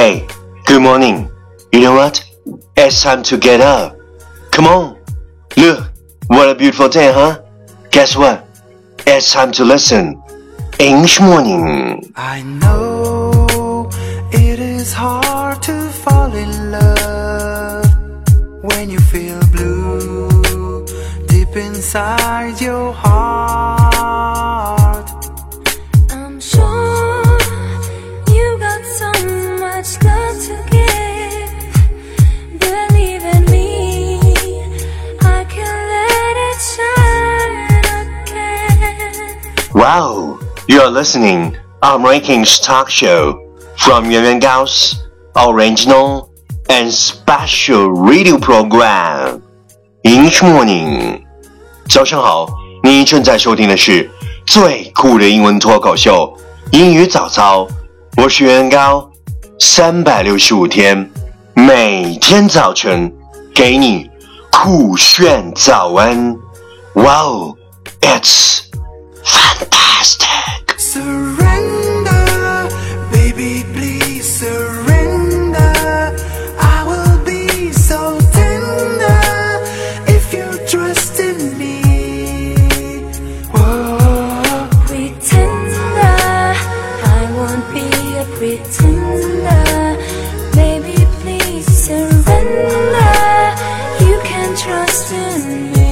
Hey, good morning. You know what? It's time to get up. Come on. Look, what a beautiful day, huh? Guess what? It's time to listen. English morning. I know it is hard to fall in love when you feel blue deep inside your heart. I'm sure you got so much love to give. Believe in me, I can let it shine again. Wow, you are listening on Rankings Talk Show from Yuan Gao's original and special radio program. English morning. 早上好，你正在收听的是最酷的英文脱口秀英语早操，我是袁高，365天每天早晨给你酷炫早安。Wow, it's fantastic. Surrender, baby, please surrender. I will be so tender if you trust in me. Whoa. Pretender, I won't be a pretender. Baby, please surrender. You can trust in me.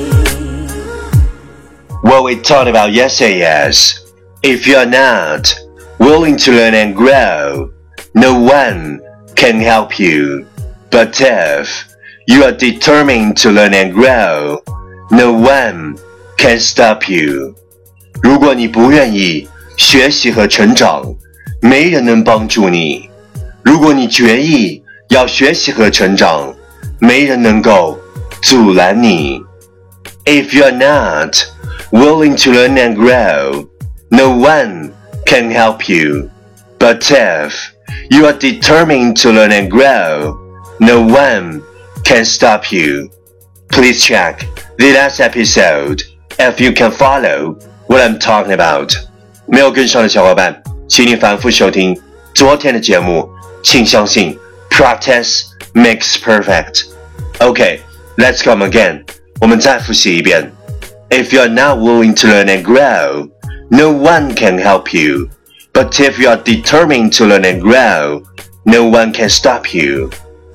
What we talked about yesterday is, if you are not willing to learn and grow, no one can help you. But if you are determined to learn and grow, no one can stop you. 如果你不愿意学习和成长，没人能帮助你。如果你决意要学习和成长，没人能够阻拦你。If you are not willing to learn and grow, no one can help you. But if you are determined to learn and grow, no one can stop you. Please check the last episode if you can follow what I'm talking about. 没有跟上的小伙伴，请你反复收听昨天的节目，请相信 practice makes perfect. Okay, let's come again. 我们再复习一遍。If you are not willing to learn and grow, no one can help you. But if you are determined to learn and grow, no one can stop you.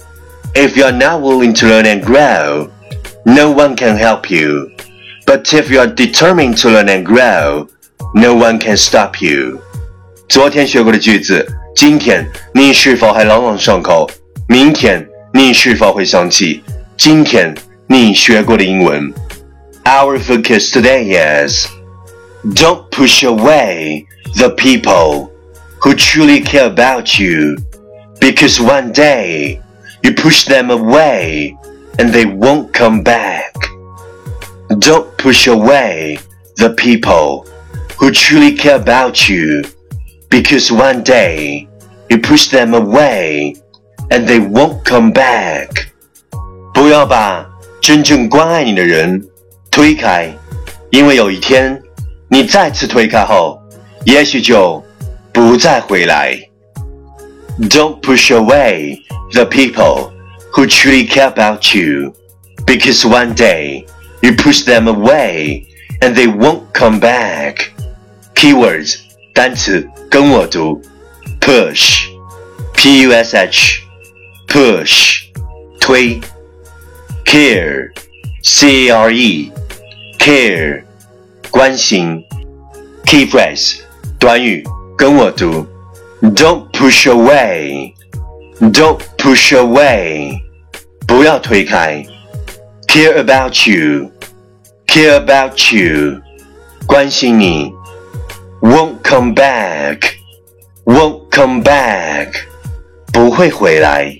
If you are not willing to learn and grow, no one can help you. But if you are determined to learn and grow, no one can stop you. 昨天学过的句子，今天你是否还朗朗上口？明天你是否会想起今天你学过的英文？ Our focus today is, don't push away the people who truly care about you, because one day you push them away and they won't come back. Don't push away the people who truly care about you, because one day you push them away and they won't come back. 不要把真正关爱你的人推开，因为有一天你再次推开后，也许就不再回来。Don't push away the people who truly care about you, because one day you push them away and they won't come back. Keywords 单词跟我读 push, P-U-S-H, push 推 care, C-A-R-E, care 关心 Key phrase 短语跟我读 Don't push away, don't push away 不要推开 Care about you, care about you 关心你 Won't come back, won't come back 不会回来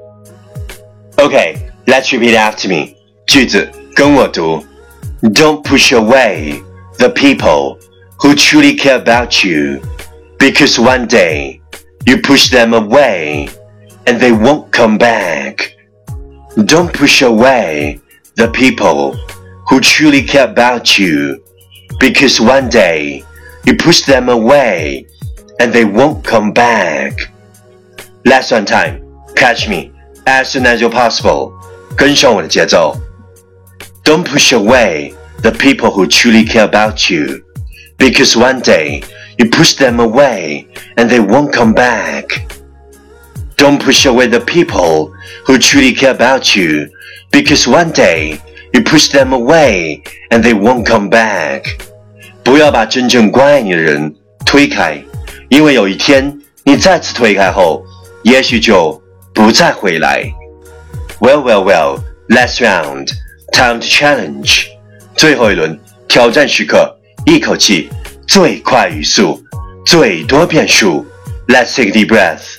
Okay, let's repeat after me 句子跟我读 Don't push away the people who truly care about you, because one day you push them away and they won't come back. Don't push away the people who truly care about you, because one day you push them away and they won't come back. Last one time, catch me as soon as you're possible. 跟上我的节奏。Don't push away the people who truly care about you, because one day you push them away and they won't come back. Don't push away the people who truly care about you, because one day you push them away and they won't come back. 不要把真正关爱你的人推开，因为有一天你再次推开后，也许就不再回来。Well, last round, time to challenge. 最后一轮挑战时刻，一口气，最快语速，最多变数。Let's take a deep breath.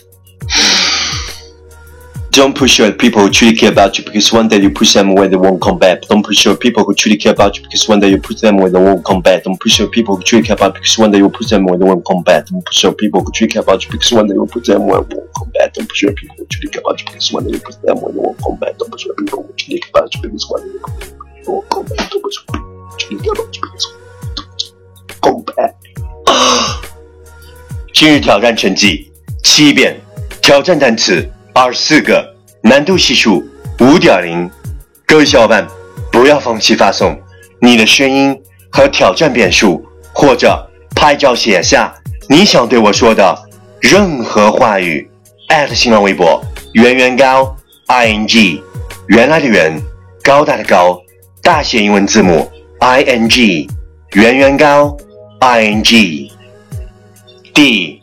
Don't push your people who truly care about you, because one day you push them away, they won't come back. Don't push your people who truly care about you, because one day you push them away, they won't come back. Don't push your people who truly care about you, because one day you push them away, they won't come back. Don't push your people who truly care about you, because one day you push them away, they won't come back. Don't push your people who truly care about you, because one day you push them away, they won't come back. Don't push your people who truly care about you, because one day you push them away, they won't come back. Don't push your people who truly care about you, because one day you push them away, they won't come back. 今日挑战成绩7遍，挑战单词24个。难度系数 5.0， 各位小伙伴不要放弃发送你的声音和挑战遍数，或者拍照写下你想对我说的任何话语，新浪微博圆圆高 ing， 原来的圆，高大的高，大写英文字母 ing， 圆圆高 ing。 第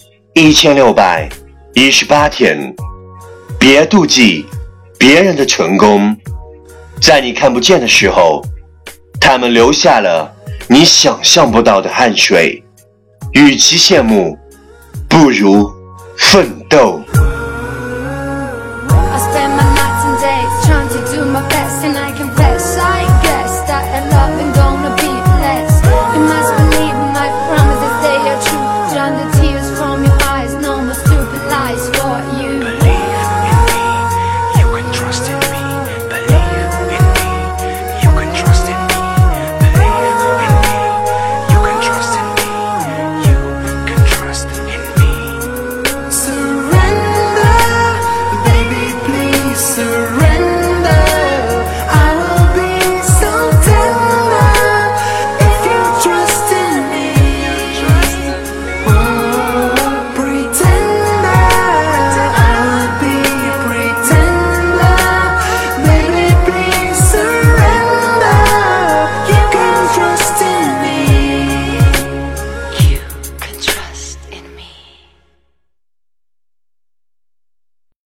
1618天，别妒忌别人的成功，在你看不见的时候，他们留下了你想象不到的汗水。与其羡慕，不如奋斗。